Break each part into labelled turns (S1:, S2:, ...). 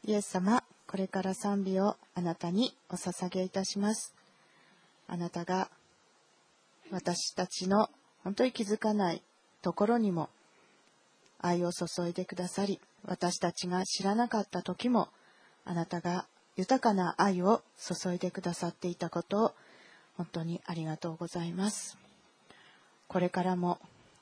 S1: イエス様、これから賛美をあなたにお捧げいたします。あなたが私たちの本当に気づかないところにも愛を注いでくださり、私たちが知らなかった時もあなたが豊かな愛を注いでくださっていたことを本当にありがとうございます。これからも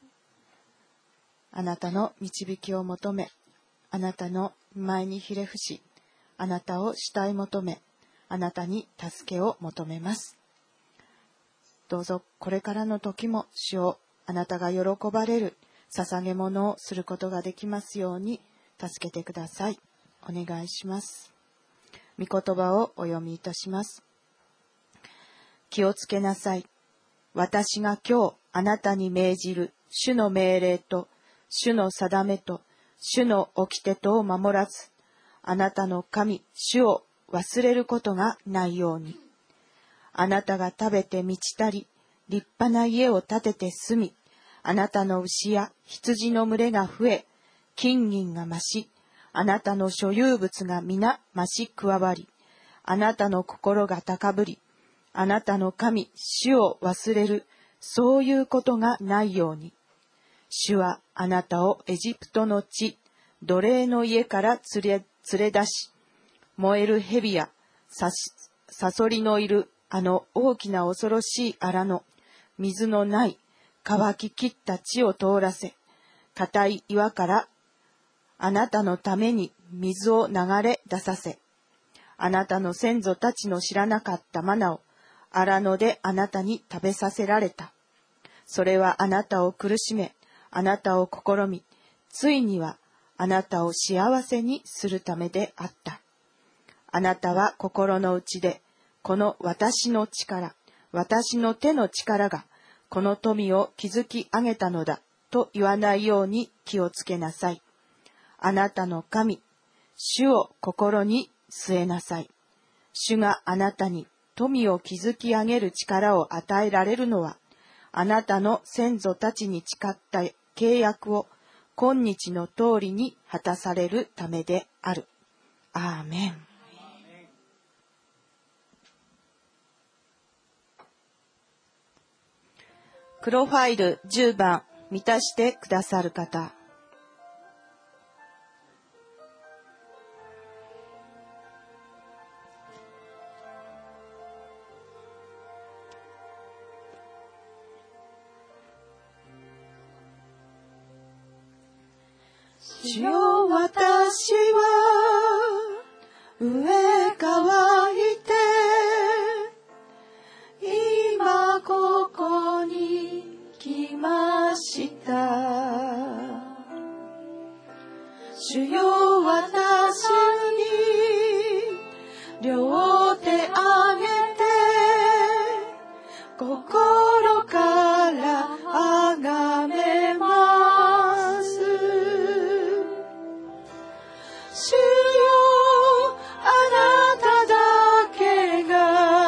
S1: あなたの導きを求め、あなたの前にひれ伏し、あなたを慕い求め、あなたに助けを求めます。どうぞこれからの時も主をあなたが喜ばれる捧げ物をすることができますように助けてください。お願いします。御言葉をお読みいたします。気をつけなさい。私が今日あなたに命じる主の命令と主の定めと主の掟とを守らず、あなたの神主を忘れることがないように。あなたが食べて満ちたり、立派な家を建てて住み、あなたの牛や羊の群れが増え、金銀が増し、あなたの所有物が皆増し加わり、あなたの心が高ぶり、あなたの神主を忘れる、そういうことがないように。主はあなたをエジプトの地、奴隷の家から連れ出し、燃える蛇やサソリのいるあの大きな恐ろしい荒野、水のない乾ききった地を通らせ、固い岩からあなたのために水を流れ出させ、あなたの先祖たちの知らなかったマナを荒野であなたに食べさせられた。それはあなたを苦しめ、あなたを試み、ついにはあなたを幸せにするためであった。あなたは心の内で、この私の力、私の手の力が、この富を築き上げたのだ、と言わないように気をつけなさい。あなたの神、主を心に据えなさい。主があなたに富を築き上げる力を与えられるのは、あなたの先祖たちに誓った契約を今日の通りに果たされるためである。アーメン。黒ファイル10番満たしてくださる方。主よ、私は飢え乾いて今ここに来ました。主よ、私に両手あげて心からあがめます。主よ、あなただけが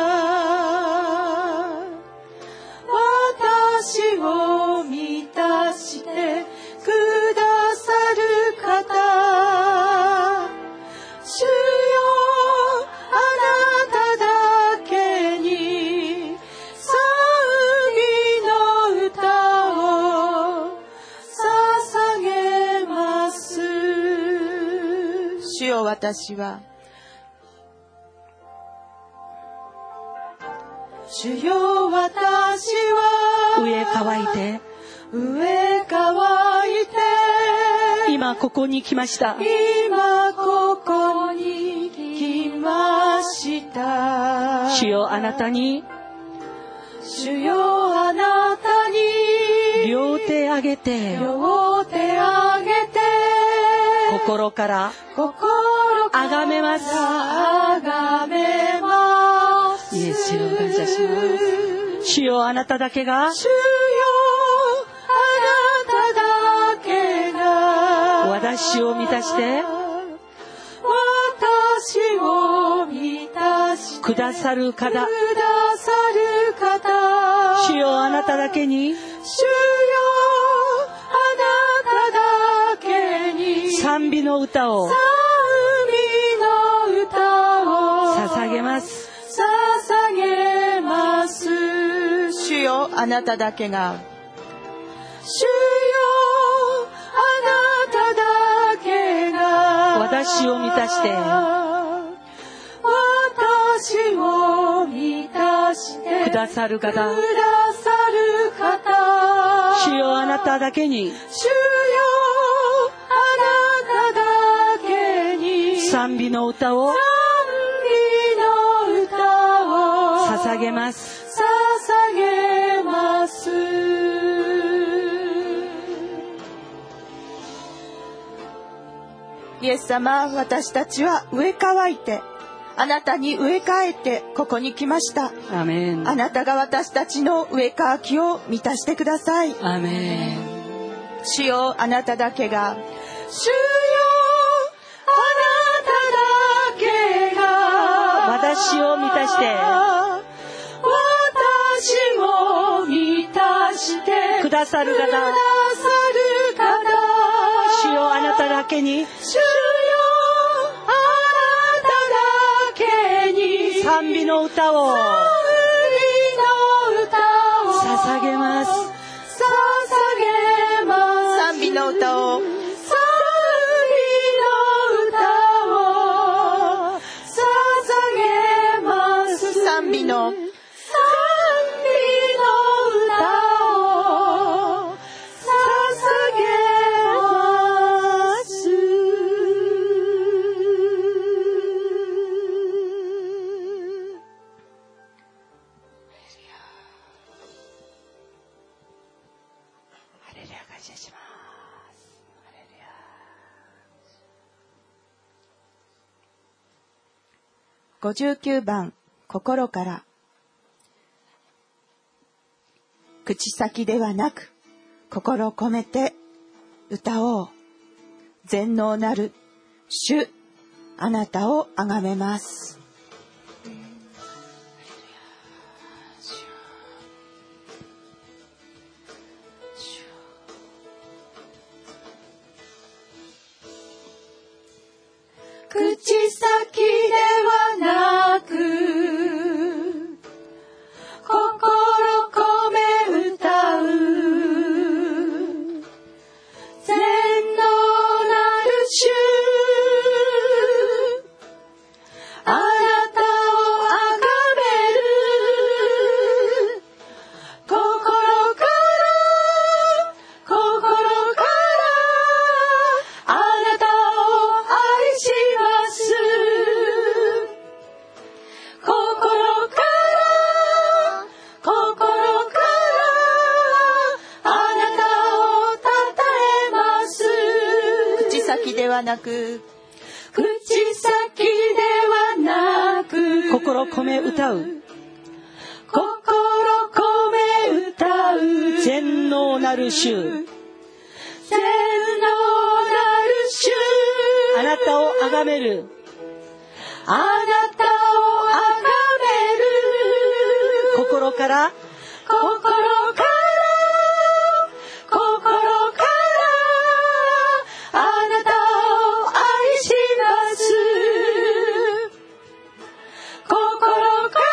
S1: 私を満たしてくださる方。主よ、あなただけに賛美の歌を捧げます。主よ、私は主よ、私は
S2: 飢え乾いて今ここに来ました。
S1: 今ここに来ました。
S2: 主よ、あなたに
S1: 主よ、あなたに
S2: 両手あげて心からあがめます。イエスを感謝します。主よ、あなただけが私を満たしてくださる方。主よ、あなただけに賛美の歌を
S1: あなただけが、
S2: 主よあなただけが私を満たして私を満たしてくださる方、主よあなただけに、主よあなただけに賛美の歌を捧げます。
S1: イエス様、私たちは植え替えて、あなたに植え替えてここに来ました。
S2: アメン。
S1: あなたが私たちの植え替きを満たしてください。
S2: アメン。
S1: 主よあなただけが、
S2: 主よあなただけが私を満たして私を満たしてくださる方、主よあなただけに、主よあなただけに賛美の歌を捧げます。
S1: 賛美の歌を賛美の歌を59番、心から。口先ではなく心込めて歌おう。全能なる主、あなたをあがめます。
S2: 口先ではなく心込め歌う、全能なる主、あなたをあがめる、心からあなたを愛します。
S1: 口先ではなく
S2: 心込め歌う、全能なる主、あなたをあがめる、心からあなたを愛します。心から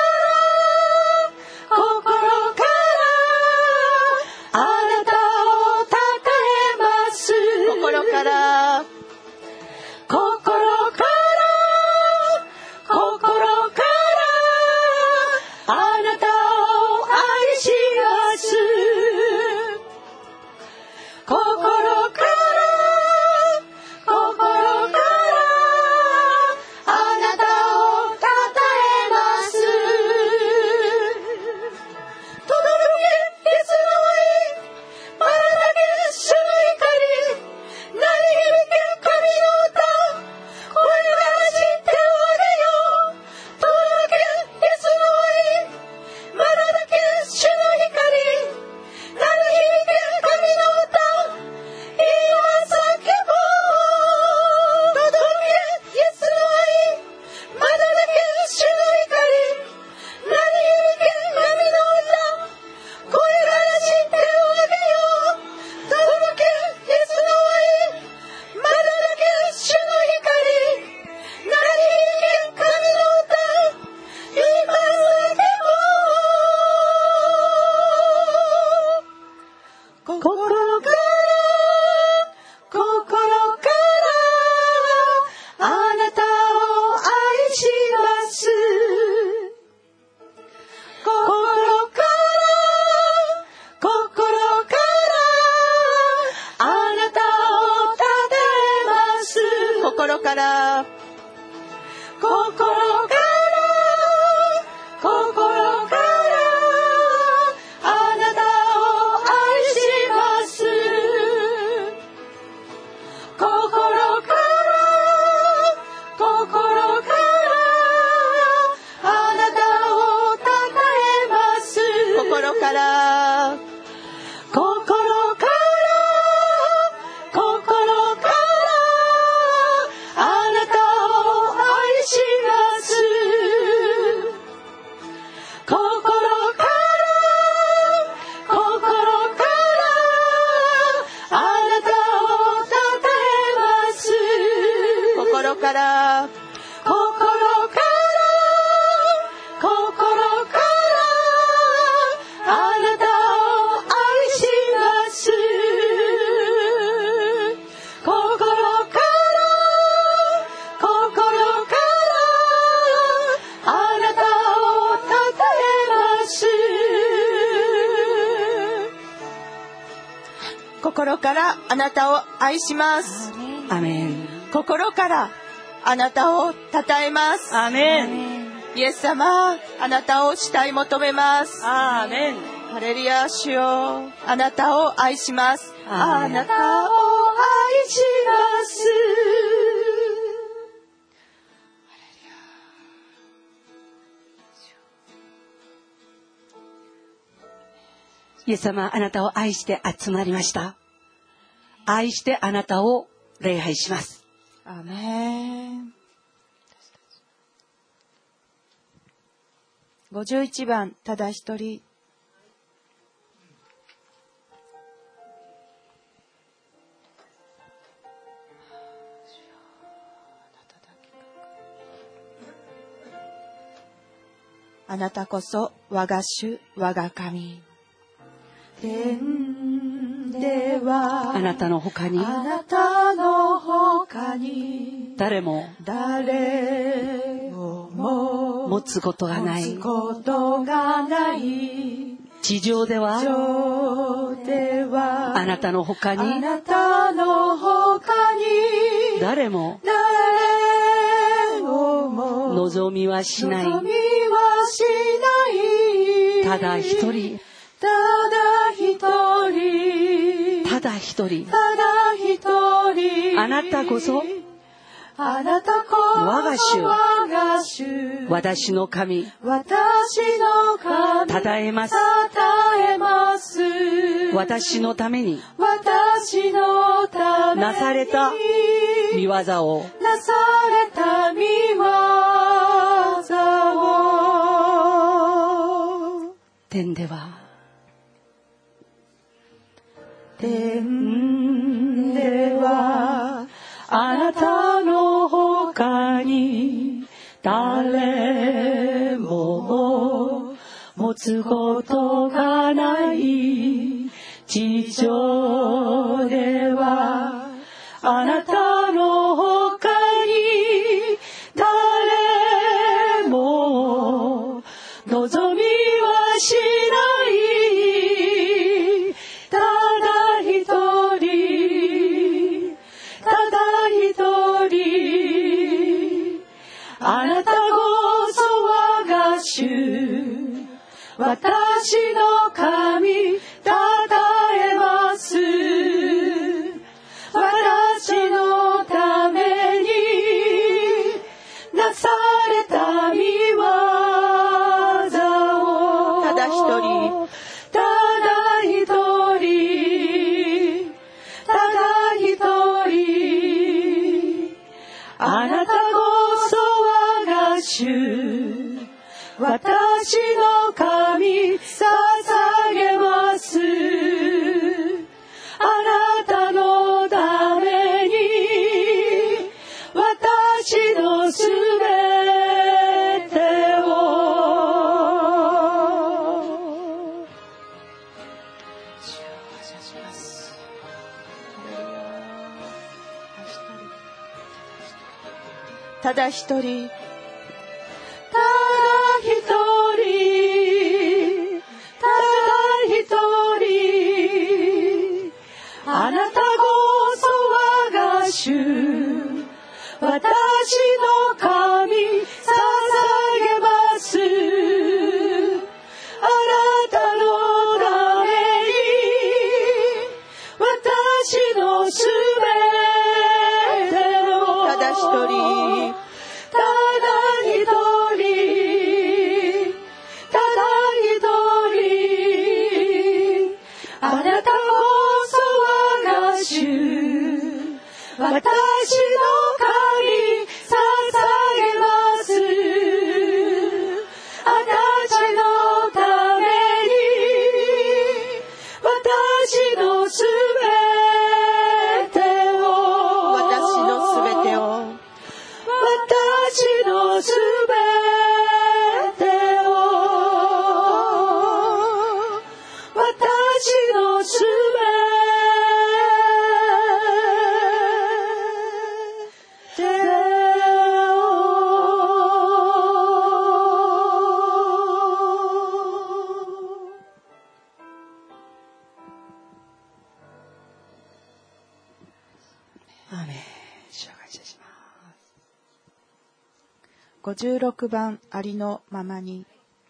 S2: あなたをたたえます。
S1: 心から
S2: あなたを愛します。心からあなたをたたえます。轟けイエスの愛、まだだけ主の怒り、鳴り響け
S1: 心からあなたを愛します。心からあなたをたたえます。心からあなたを愛します。心からあなたをたたえます。心からあなたを愛します。心からあなたをたたえます。心からあなたを愛します。
S2: アメン。
S1: 心からあなたをたたえます。
S2: アメン。
S1: イエス様、あなたを慕い求めます。
S2: アーメン。
S1: ハレルヤ、主よ、あなたを愛します。
S2: アーメン。
S1: あなたを愛します。
S2: イエス様、あなたを愛して集まりました。愛してあなたを礼拝します。
S1: アーメン。51番、ただ一人。あなたこそ我が主、我が神。天では
S2: あなたの他に
S1: あなたの他に
S2: 誰も持つことがない。地上ではあなたの他に誰も望みはしない。ただ一人あなたこそ我が主、私の神、たたえます。私のためになされた御業を天ではあなたの他に誰も持つことがない。地上ではあなたの他に誰も望みはしない。あなたこそ我が主、私の神、たたえます。私のためになされた御業をただ一人あなた私の神、捧げます。あなたのために私のすべてをただ一人あなたこそ我が主、私私の神捧げます。あなたのために私のすべてを
S1: ただ一人
S2: あなたこそ我が主、私の神捧げます。あなたのために私のすべてを、
S1: 私のすべてを、
S2: 私のすべてを、私のすべてをアーメン。主を感謝します。
S1: 56番ありのままに。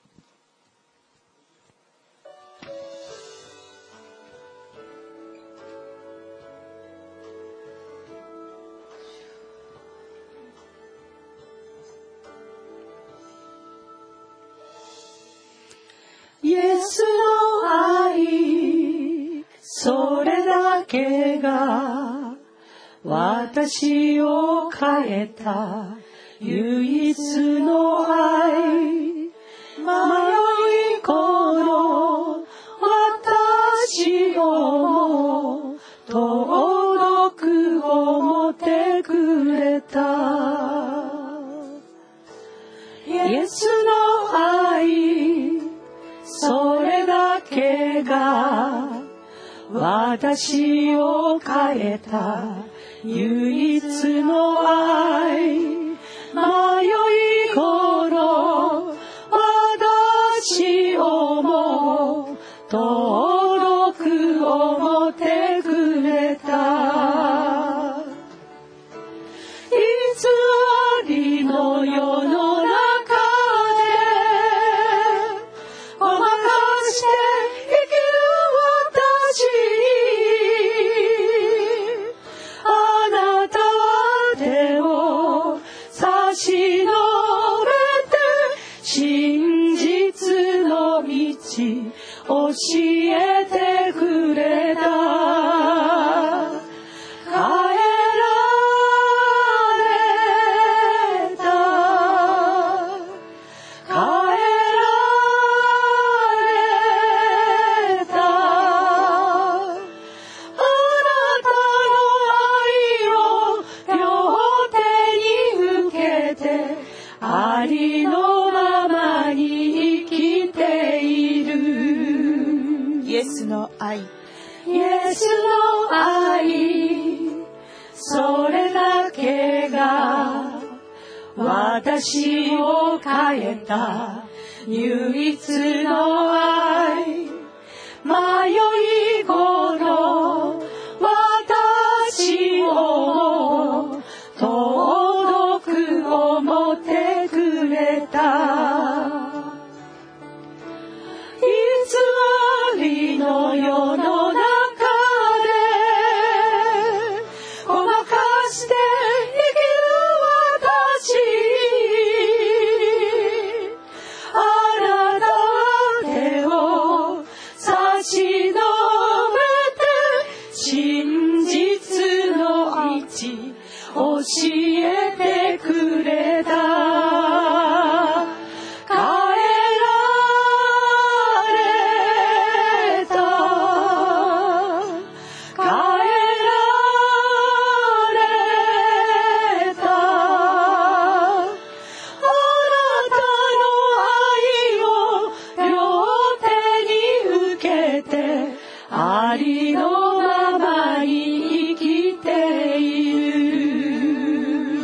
S2: イエスの愛、それだけが私を変えた唯一の愛。迷いこの私を遠く思ってくれた。イエスの愛、それだけが私を変えた唯一の愛。迷いこの私をも遠く思ってくれた。偽りの世の中でごまかして生きる私に、あなたは手を差し伸べて真実の道教えてくれた。変えられた、変えられた。あなたの愛を両手に受けて、ありのままに生きている。
S1: イエスの愛、
S2: イエスの愛、それだけが私を変えた唯一の愛。迷いこの私を遠く思ってくれた。偽りの世の中でごまかして生きる私に、あなたは手を差し伸べて真実の道教えてくれた。変えられた、変えられた。あなたの愛を両手に受けて、ありのままに生きている。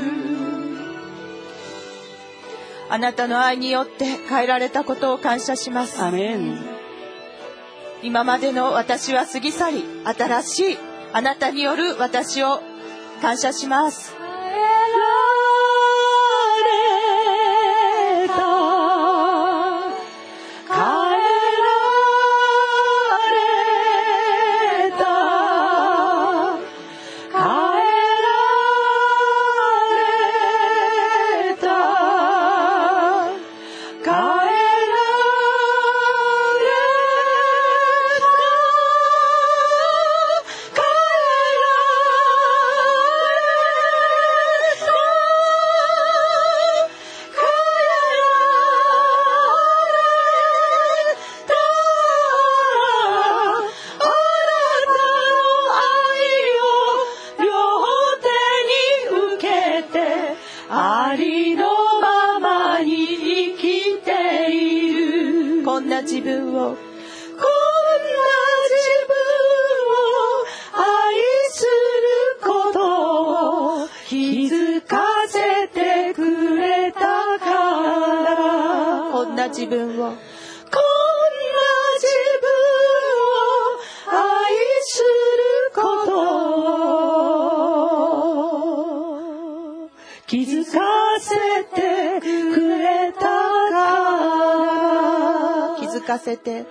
S1: あなたの愛によって変えられたことを感謝します。
S2: アメン。
S1: 今までの私は過ぎ去り、新しいあなたによる私を感謝します。
S2: 変えら
S1: 自分を
S2: 愛すること気づかせてくれたから
S1: 気づかせて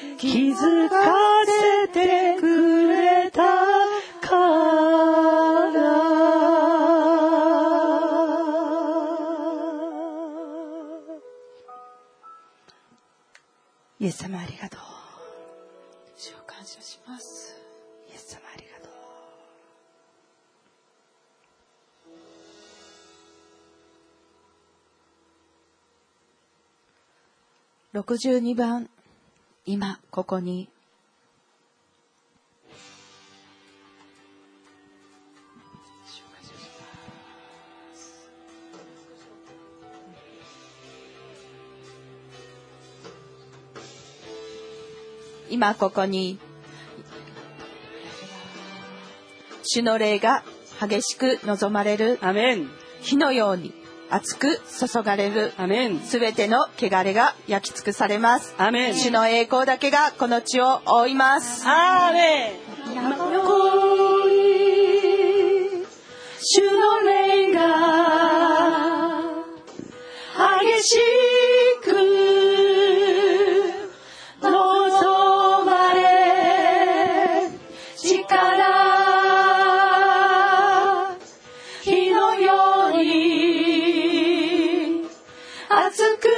S2: くれたからイエス様ありがとう。
S1: 主を感謝します。
S2: イエス様ありがと
S1: う。62番、今ここに。今ここに主の霊が激しく望まれる。
S2: アメン。
S1: 火のように熱く注がれる。
S2: アメン。
S1: すべての汚れが焼き尽くされます。
S2: アメン。
S1: 主の栄光だけがこの地を覆います。
S2: アメン。今ここに主の霊が激しく望まれ、力火のように熱く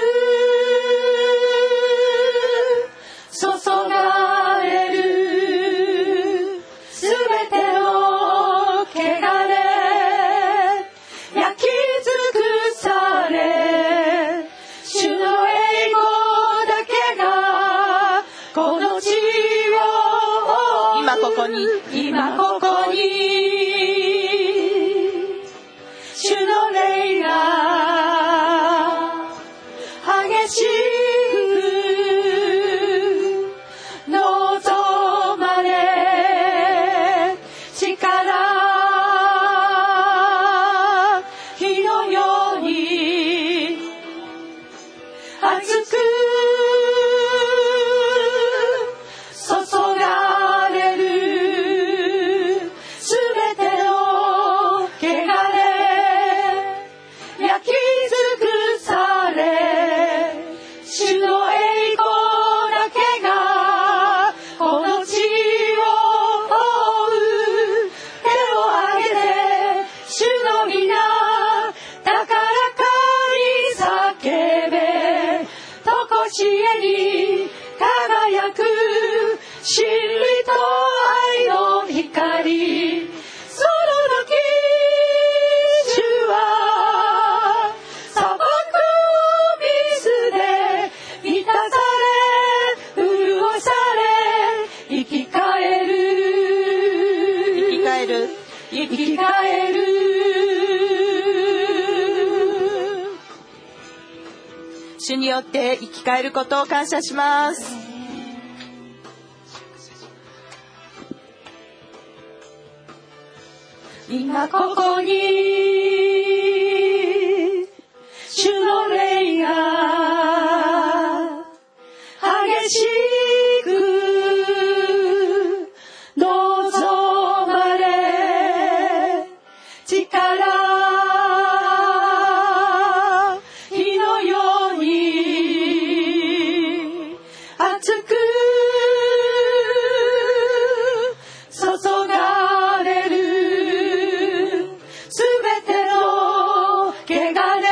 S2: 注がれる。すべての汚れ焼き尽くされ、主の栄光だけがこの地を
S1: 今ここに
S2: 今ここに主の霊が激しく望まれ、力火のように熱く注がれる。すべての汚れ焼き尽くされ、主の栄光だけがこの地を覆う。手を挙げて主の皆高らかに叫べ、とこしえに輝く真理と愛の光。その時主は砂漠の水で満たされ、潤され、生き返る。生き返る。
S1: 主によって生き返ることを感謝します。
S2: 今ここに主の霊が激しく望まれ、力火のように熱く注がれる。すべての汚れ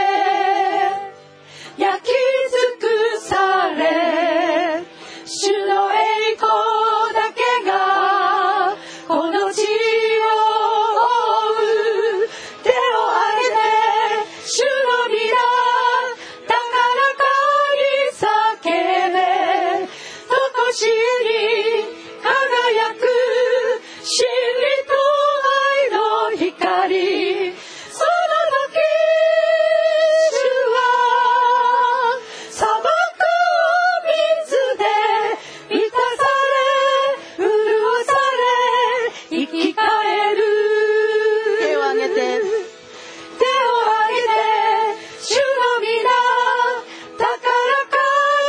S2: 焼き尽くされ、主の栄光だけがこの地を覆う。手を挙げて主の皆高らかに叫べ、とこしえに輝く真理と愛の光。その時主は砂漠を水で満たされ、潤され、生き返る。
S1: 手を挙げて
S2: 手を挙げて主の皆高らか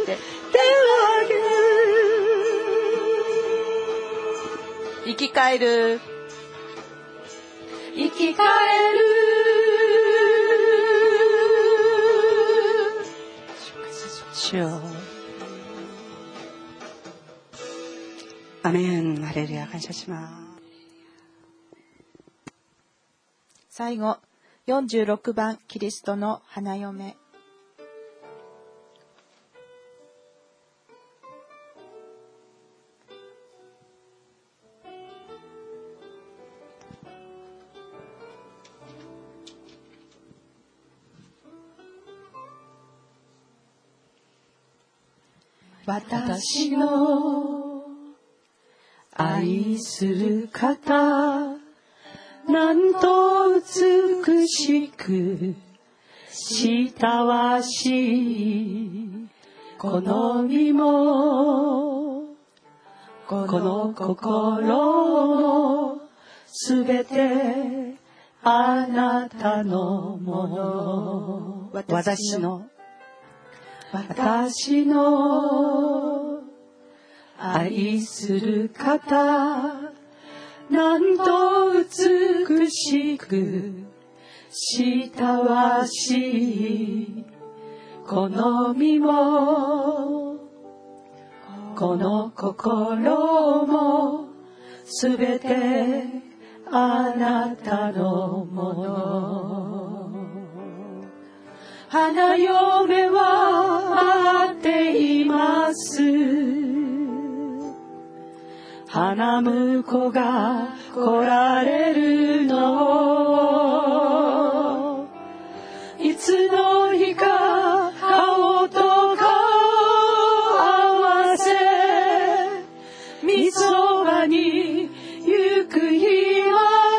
S1: て生き返る
S2: 生き返る主よアメンハレルヤ感謝します。
S1: 最後46番キリストの花嫁。
S2: 私の愛する方、なんと美しく親しい、この身もこの心もすべてあなたのもの。私の愛する方、なんと美しく親しい、この身もこの心もすべてあなたのもの。花嫁は待っています。花婿が来られるの。いつの日か顔と顔合わせ、みそばに行く日ま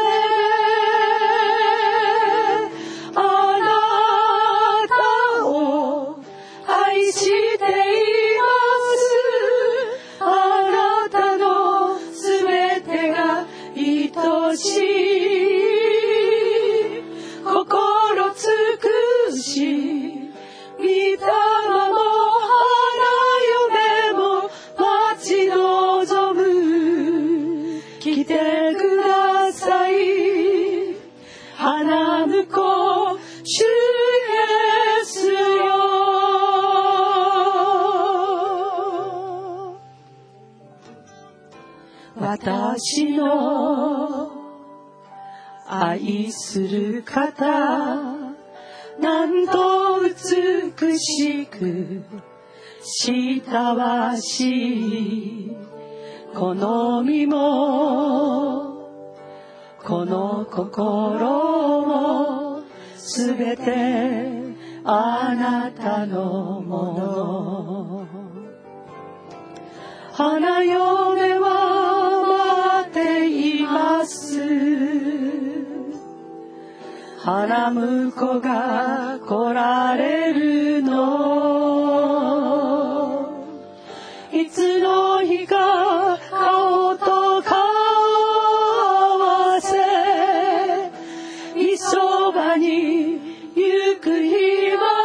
S2: で、あなたを愛しています。あなたのすべてが愛しい、心尽くし、御霊も花嫁も待ち望む。来てください、花婿主イエスよ。私の愛する方、なんと美しく親しい、この身もこの心もすべてあなたのもの。花嫁は待っています。花婿が来られるの。いつの日か顔と顔合わせ、みそばに行く日ま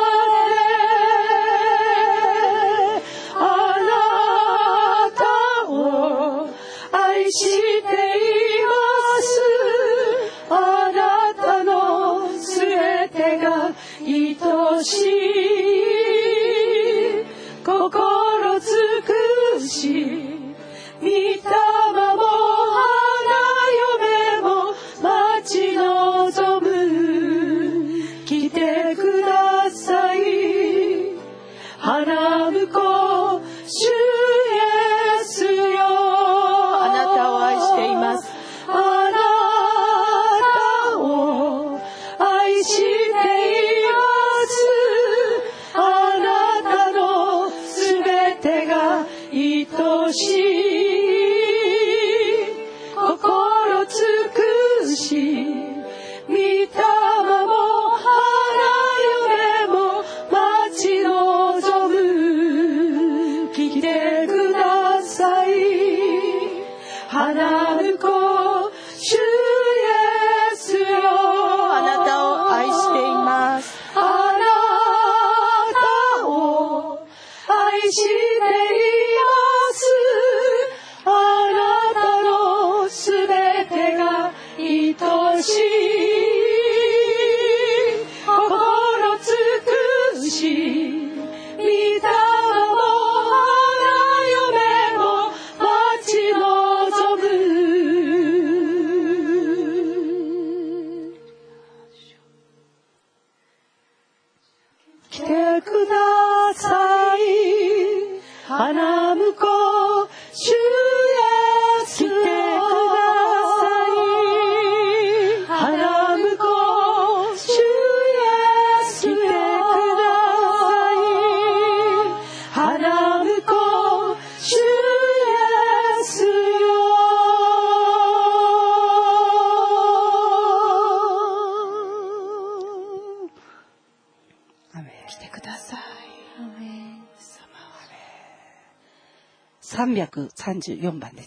S2: で、あなたを愛しています。あなたのすべてが愛しい、心尽くし、御霊も花嫁も待ち望む。来てください、花婿主イエスよ。
S1: あなたを愛しています。
S2: あなたを愛しています。 しています。あなたのすべてが愛しい。心尽くし、御霊も花嫁も待ち望む。来てください、花婿主イエスよ。来てください、花婿主イエスよ。来てください、花婿主イエスよ。アメン。来てください。アメン。334番です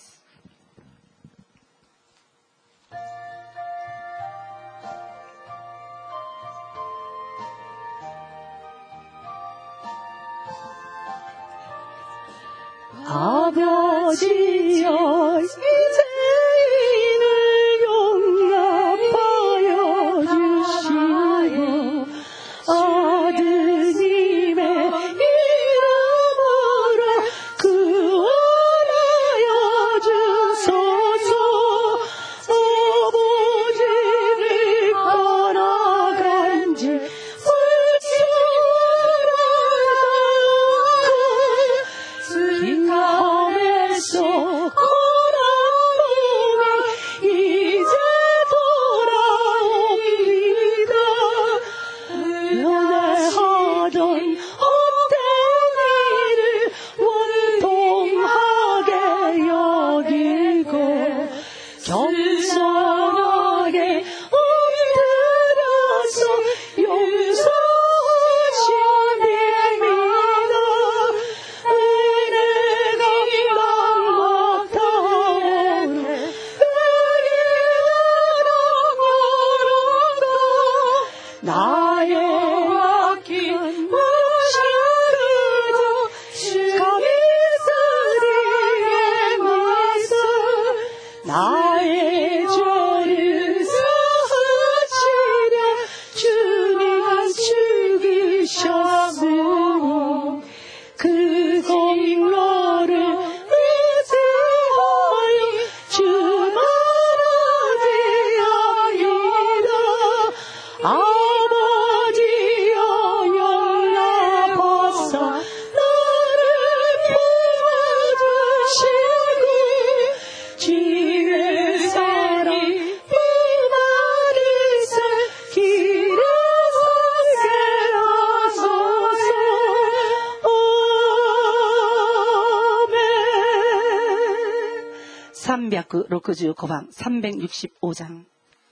S2: 。아버지여 이제는 용납하여 주시고 아드님의 이름으로 구원하여 주소서. 아버지를 떠나간 지 불쌍하다. 고라움이 이제 돌아옵니다. 연애하던 헛된 일을 원통하게 여기고 겸손하게 엎드려서 용서하십니다. 은혜가 막막하오네. 은혜가 나의 아낀 무시하고 감히 쓰리의 말씀 나의 죄를 사하시려 주님 죽으셨으니 그 공로를 의지하여 주만 어디하이다. 아버지여 용납하사 나를 품어주시고 주의 사랑 품안으사 길에 서게 하소서. 아멘. 365방 365장.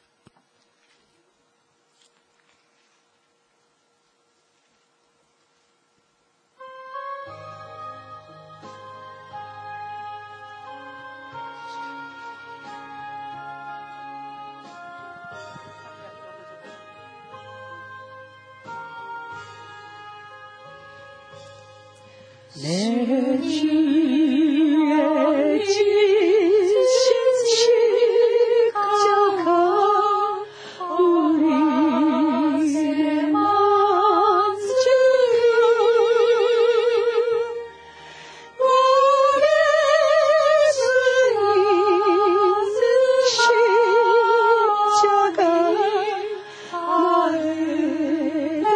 S2: 내 주의 지신 십자가 우리를 만지고 우리 주님 십자가 아래로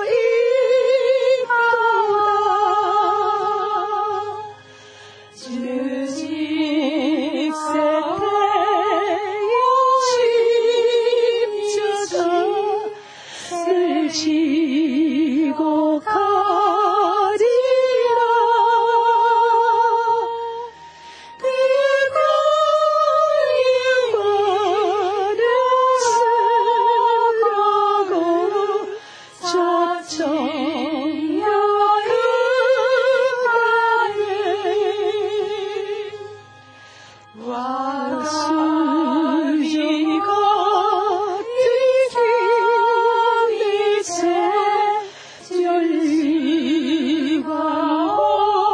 S2: 지고 가리라. 그가 영원을 쓰라고 저청하가네. 와수비가 열리과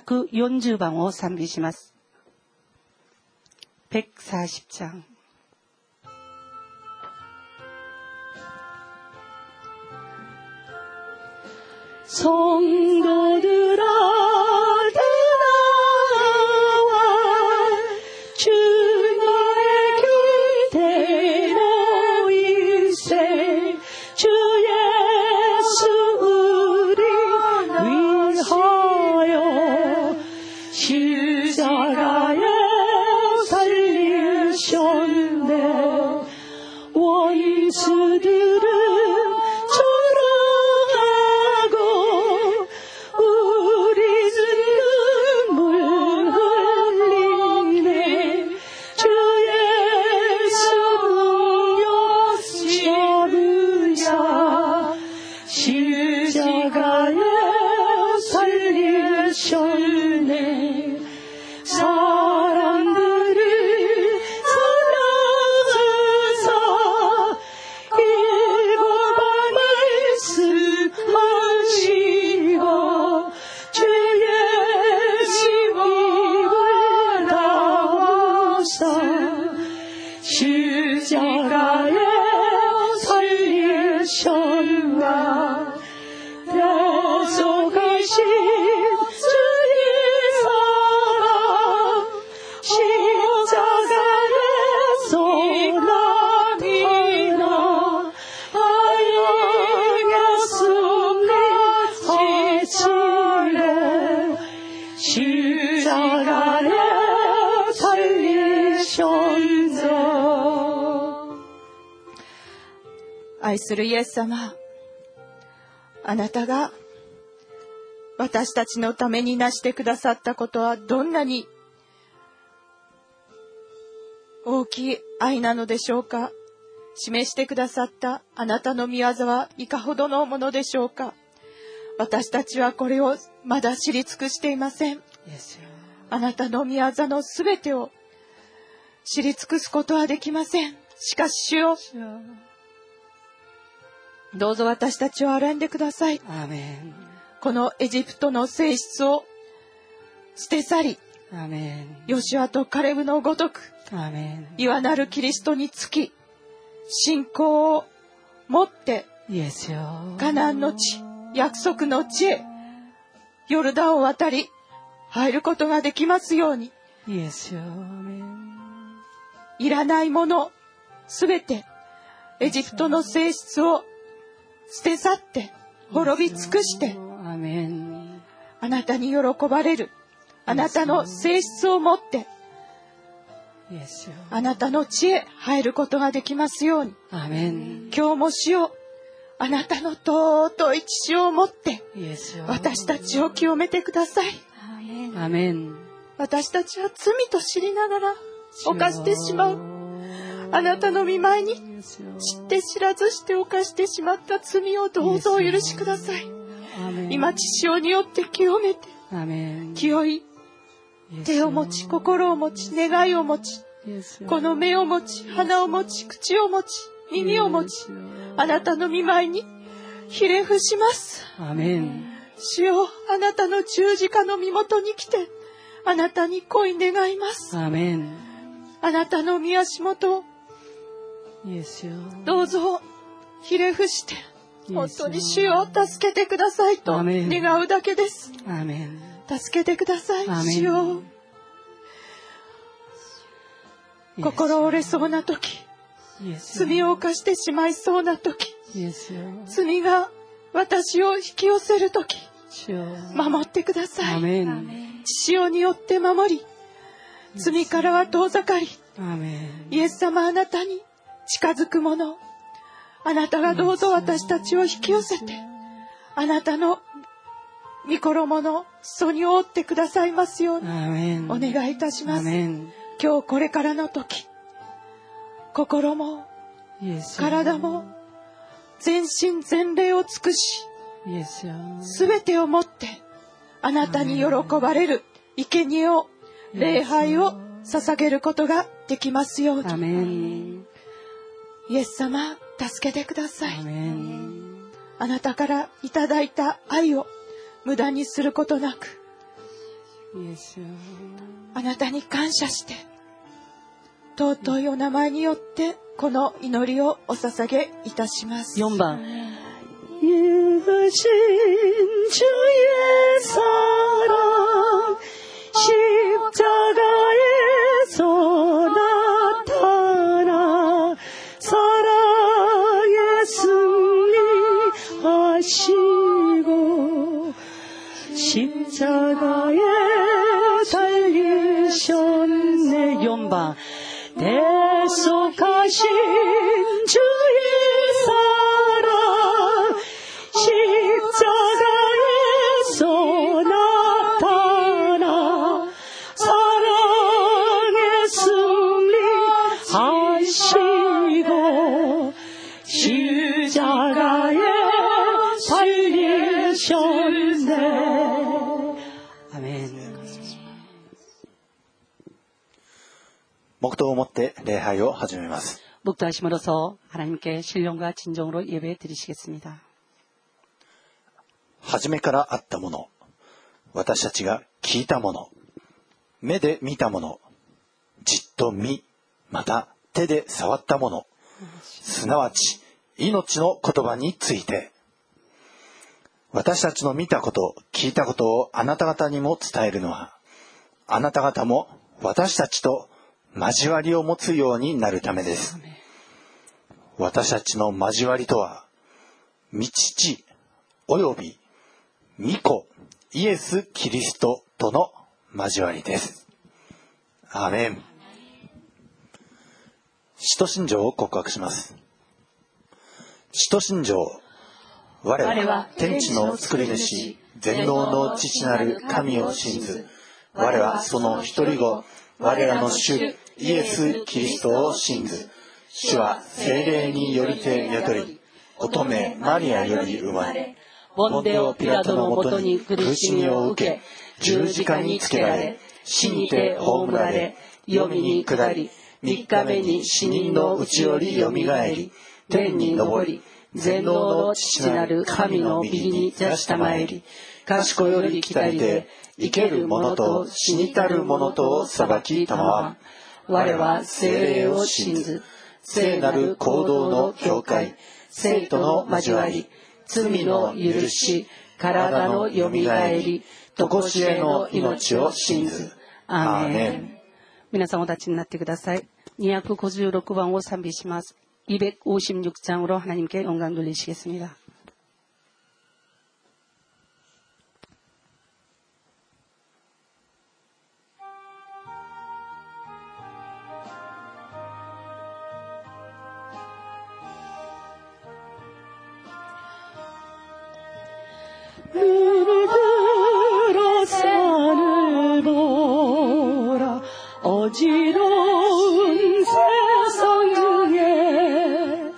S2: 140番を賛美します。140장 성도들아 나와 주님의 곁에 모이세. 주 예수 우리 위하여 십자가에 살리셨네. 원수들은
S1: 愛するイエス様、あなたが私たちのためになしてくださったことはどんなに大きい愛なのでしょうか。示してくださったあなたの御業はいかほどのものでしょうか。私たちはこれをまだ知り尽くしていません。あなたの御業のすべてを知り尽くすことはできません。しかし主よ、どうぞ私たちを憐れんでください。
S2: アーメン。
S1: このエジプトの性質を捨て去り、
S2: アーメン。
S1: ヨシュアとカレブのごとく、
S2: アーメン。
S1: いわなるキリストにつき、信仰を持ってカナンの地、約束の地へヨルダンを渡り入ることができますように。いらないものすべてエジプトの性質を捨て去って滅び尽くして、あなたに喜ばれるあなたの性質を持ってあなたの地へ入ることができますように。今日も主よ、あなたの尊い血潮を持って私たちを清めてください。私たちは罪と知りながら犯してしまうあなたの御前に知って知らずして犯してしまった罪をどうぞお許しください。今血潮によって清めて、清い手を持ち、心を持ち、願いを持ち、この目を持ち、鼻を持ち、口を持ち、耳を持ち、あなたの御前にひれ伏します。主よ、あなたの十字架の身元に来てあなたに恋願います。あなたの御足元をどうぞひれ伏して、本当に主よ助けてくださいと願うだけです。助けてください。主よ、心折れそうな時、罪を犯してしまいそうな時、罪が私を引き寄せる時、守ってください。血潮によって守り、罪からは遠ざかり、イエス様、あなたに近づくもの、あなたがどうぞ私たちを引き寄せて、あなたの御衣の裾に覆ってくださいますようにお願いいたします。今日これからの時、心も体も全身全霊を尽くし、すべてをもってあなたに喜ばれる生贄を、礼拝を捧げることができますように。イエス様、助けてください。あなたからいただいた愛を無駄にすることなく、 あなたに感謝して、尊いお名前によってこの祈りをお捧げいたします。
S2: 4番유신 주의 사랑 십자가에서 나타나 사랑의 승리하시고 십자가에 달리셨네. 연방 대속하신 주의 사랑 십자가에서 나타나 사랑의 승리하시고 십자가에 달리셨네. 아멘.
S3: 黙祷をもって礼拝を始めます。
S2: 묵도하심으로써 하나님께 신령과 진정으로 예배 드리시겠습니다.
S3: 初めからあったもの、私たちが聞いたもの、目で見たもの、じっと見、また手で触ったもの、すなわち命の言葉について、私たちの見たこと、聞いたことをあなた方にも伝えるのは、あなた方も私たちと交わりを持つようになるためです。私たちの交わりとは、御父および御子イエス・キリストとの交わりです。アーメン。使徒信条を告白します。使徒信条。我は天地の作り主、全能の父なる神を信ず。我はその一人子、我らの主イエス・キリストを信ず。主は聖霊によりて宿り、乙女マリアより生まれ、ポンテオ・ピラトのもとに苦しみを受け、十字架につけられ、死にて葬られ、黄泉に下り、3日目に死人のうちよりよみがえり、天に昇り、全能の父なる神の右に座したまえり、賢より来たりて、生ける者と死にたる者とを裁きたまわ。我は聖霊を信ず、聖なる行動の教会、聖との交わり、罪の許し、体のよみがえり、とこしえの命を信ず。アーメン。
S2: 皆さんお立ちになってください。256番を賛美します。256장으로 하나님께 영광 돌리시겠습니다. 눈을 들어 산을 보라 어지러운 세상 중에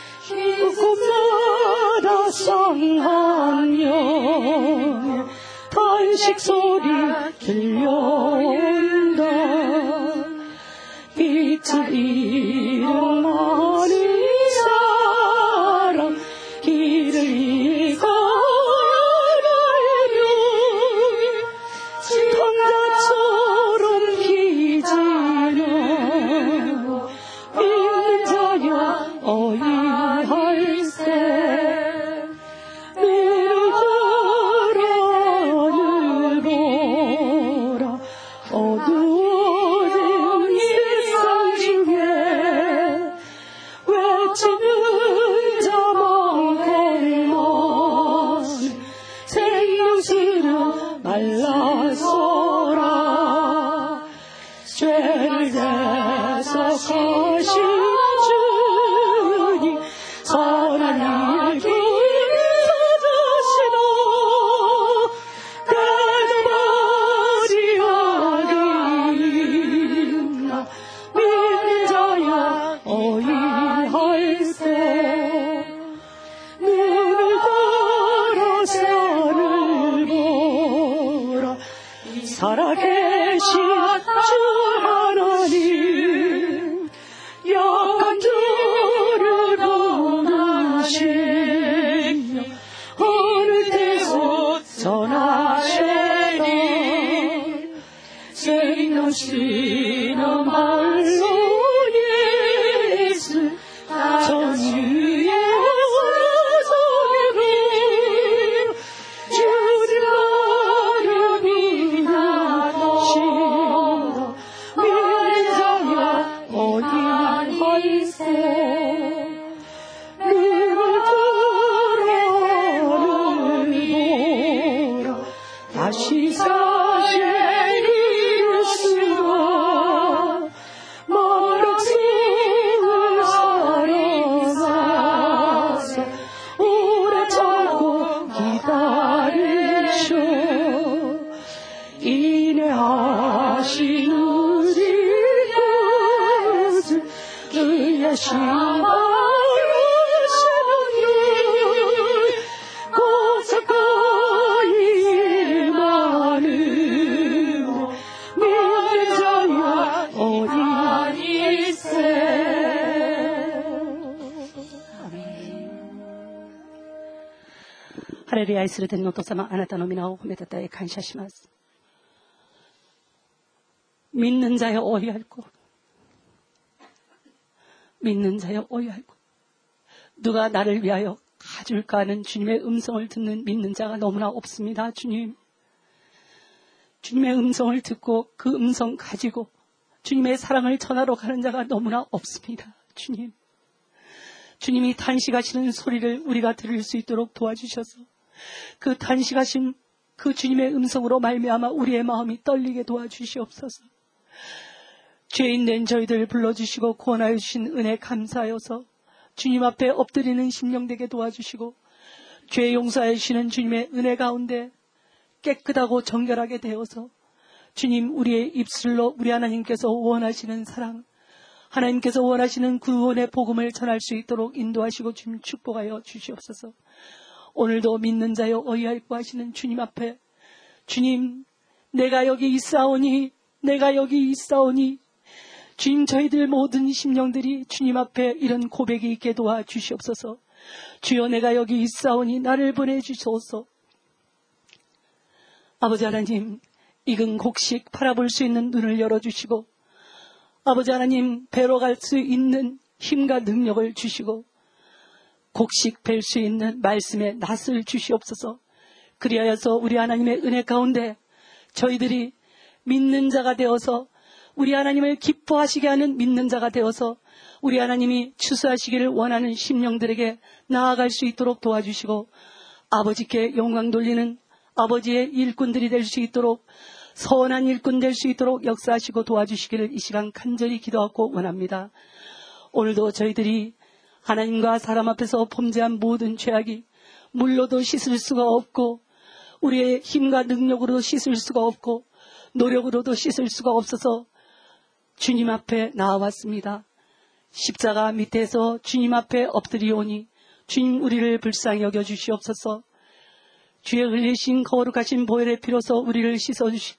S2: 꿈마다 상한 영의 탄식 소리 들려온다. 빛을 잃은 많은 사람 길을 잃어가려면 강가처럼 기지는 믿는 자여 어이할세. 눈을 들어 보라 어두워진 세상 중에 외치는 자만큼만 생명수는 말라서라. 죄를 대속하신 주님 선한 일 찾으시도 대도마리아리나 믿는 자야 어이할세. 눈을 들어 산을 보라 살아계신 주 하나님 약한 주를 부르시며 어느 때도 전하시니 당신의 말로 예수 저 주의 소리로 주를 믿나시오 믿자야 어디서 다시 사실 이루시고 머락심을 살아가서 오래 참고 기다리쇼 인내하신 우리 예수 주의 신발ハレルヤ愛する天のお父様、あなたの皆を褒めたたえ感謝します。믿는 자여 어이할고 믿는 자여 어이할고 누가 나를 위하여 가줄까 하는 주님의 음성을 듣는 믿는 자가 너무나 없습니다. 주님, 주님의 음성을 듣고 그 음성 가지고 주님의 사랑을 전하러 가는 자가 너무나 없습니다. 주님, 주님이 탄식하시는 소리를 우리가 들을 수 있도록 도와주셔서 그 탄식하신 그 주님의 음성으로 말미암아 우리의 마음이 떨리게 도와주시옵소서. 죄인 된 저희들 불러주시고 구원하여 주신 은혜 감사하여서 주님 앞에 엎드리는 심령 되게 도와주시고 죄 용서해 주시는 주님의 은혜 가운데 깨끗하고 정결하게 되어서 주님 우리의 입술로 우리 하나님께서 원하시는 사랑, 하나님께서 원하시는 구원의 복음을 전할 수 있도록 인도하시고 주님 축복하여 주시옵소서. 오늘도 믿는 자여 어이할고 하시는 주님 앞에 주님 내가 여기 있사오니 내가 여기 있사오니 주님 저희들 모든 심령들이 주님 앞에 이런 고백이 있게 도와주시옵소서. 주여 내가 여기 있사오니 나를 보내주소서. 아버지 하나님 익은 곡식 바라볼 수 있는 눈을 열어주시고 아버지 하나님 배로 갈 수 있는 힘과 능력을 주시고 곡식 뵐 수 있는 말씀의 낯을 주시옵소서. 그리하여서 우리 하나님의 은혜 가운데 저희들이 믿는 자가 되어서 우리 하나님을 기뻐하시게 하는 믿는 자가 되어서 우리 하나님이 추수하시기를 원하는 심령들에게 나아갈 수 있도록 도와주시고 아버지께 영광 돌리는 아버지의 일꾼들이 될 수 있도록 선한 일꾼 될 수 있도록 역사하시고 도와주시기를 이 시간 간절히 기도하고 원합니다. 오늘도 저희들이 하나님과 사람 앞에서 범죄한 모든 죄악이 물로도 씻을 수가 없고 우리의 힘과 능력으로도 씻을 수가 없고 노력으로도 씻을 수가 없어서 주님 앞에 나와왔습니다. 십자가 밑에서 주님 앞에 엎드리오니 주님 우리를 불쌍히 여겨주시옵소서. 주의 흘리신 거룩하신 보혈의 피로서 우리를 씻어주시고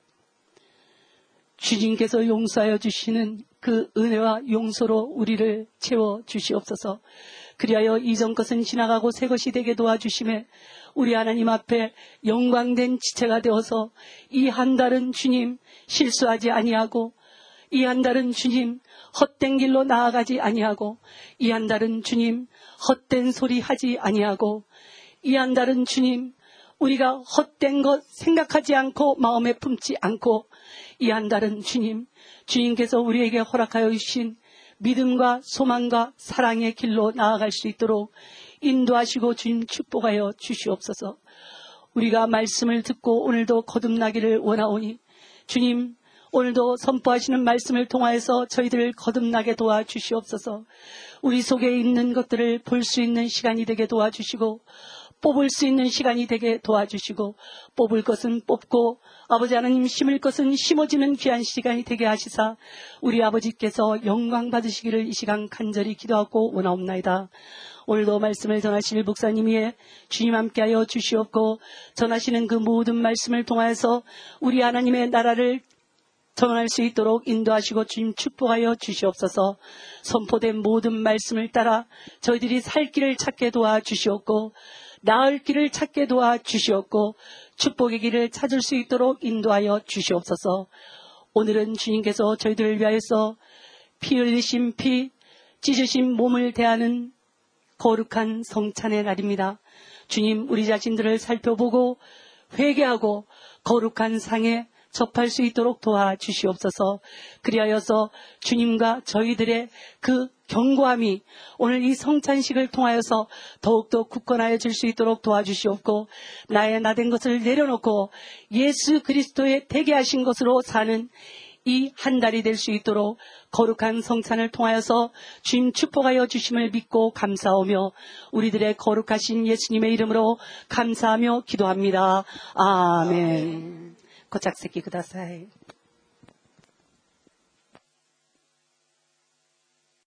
S2: 주님께서 용서하여 주시는 그 은혜와 용서로 우리를 채워주시옵소서. 그리하여 이전 것은 지나가고 새 것이 되게 도와주심에 우리 하나님 앞에 영광된 지체가 되어서 이 한 달은 주님 실수하지 아니하고 이 한 달은 주님 헛된 길로 나아가지 아니하고 이 한 달은 주님 헛된 소리 하지 아니하고 이 한 달은 주님 우리가 헛된 것 생각하지 않고 마음에 품지 않고 이 한 달은 주님 주님께서 우리에게 허락하여 주신 믿음과 소망과 사랑의 길로 나아갈 수 있도록 인도하시고 주님 축복하여 주시옵소서. 우리가 말씀을 듣고 오늘도 거듭나기를 원하오니 주님 오늘도 선포하시는 말씀을 통하여서 저희들을 거듭나게 도와주시옵소서. 우리 속에 있는 것들을 볼 수 있는 시간이 되게 도와주시고 뽑을 수 있는 시간이 되게 도와주시고 뽑을 것은 뽑고 아버지 하나님 심을 것은 심어지는 귀한 시간이 되게 하시사 우리 아버지께서 영광 받으시기를 이 시간 간절히 기도하고 원하옵나이다. 오늘도 말씀을 전하실 목사님이 주님 함께하여 주시옵고 전하시는 그 모든 말씀을 통하여서 우리 하나님의 나라를 전할 수 있도록 인도하시고 주님 축복하여 주시옵소서. 선포된 모든 말씀을 따라 저희들이 살 길을 찾게 도와주시옵고 나을 길을 찾게 도와주시옵고 축복의 길을 찾을 수 있도록 인도하여 주시옵소서. 오늘은 주님께서 저희들을 위하여서 피 흘리신 피, 찢으신 몸을 대하는 거룩한 성찬의 날입니다. 주님, 우리 자신들을 살펴보고 회개하고 거룩한 상에 접할 수 있도록 도와주시옵소서. 그리하여서 주님과 저희들의 그 견고함이 오늘 이 성찬식을 통하여서 더욱더 굳건하여 질 수 있도록 도와주시옵고, 나의 나된 것을 내려놓고 예수 그리스도의 되게 하신 것으로 사는 이 한 달이 될 수 있도록 거룩한 성찬을 통하여서 주님 축복하여 주심을 믿고 감사하며 우리들의 거룩하신 예수님의 이름으로 감사하며 기도합니다. 아멘. 고작 새끼ください.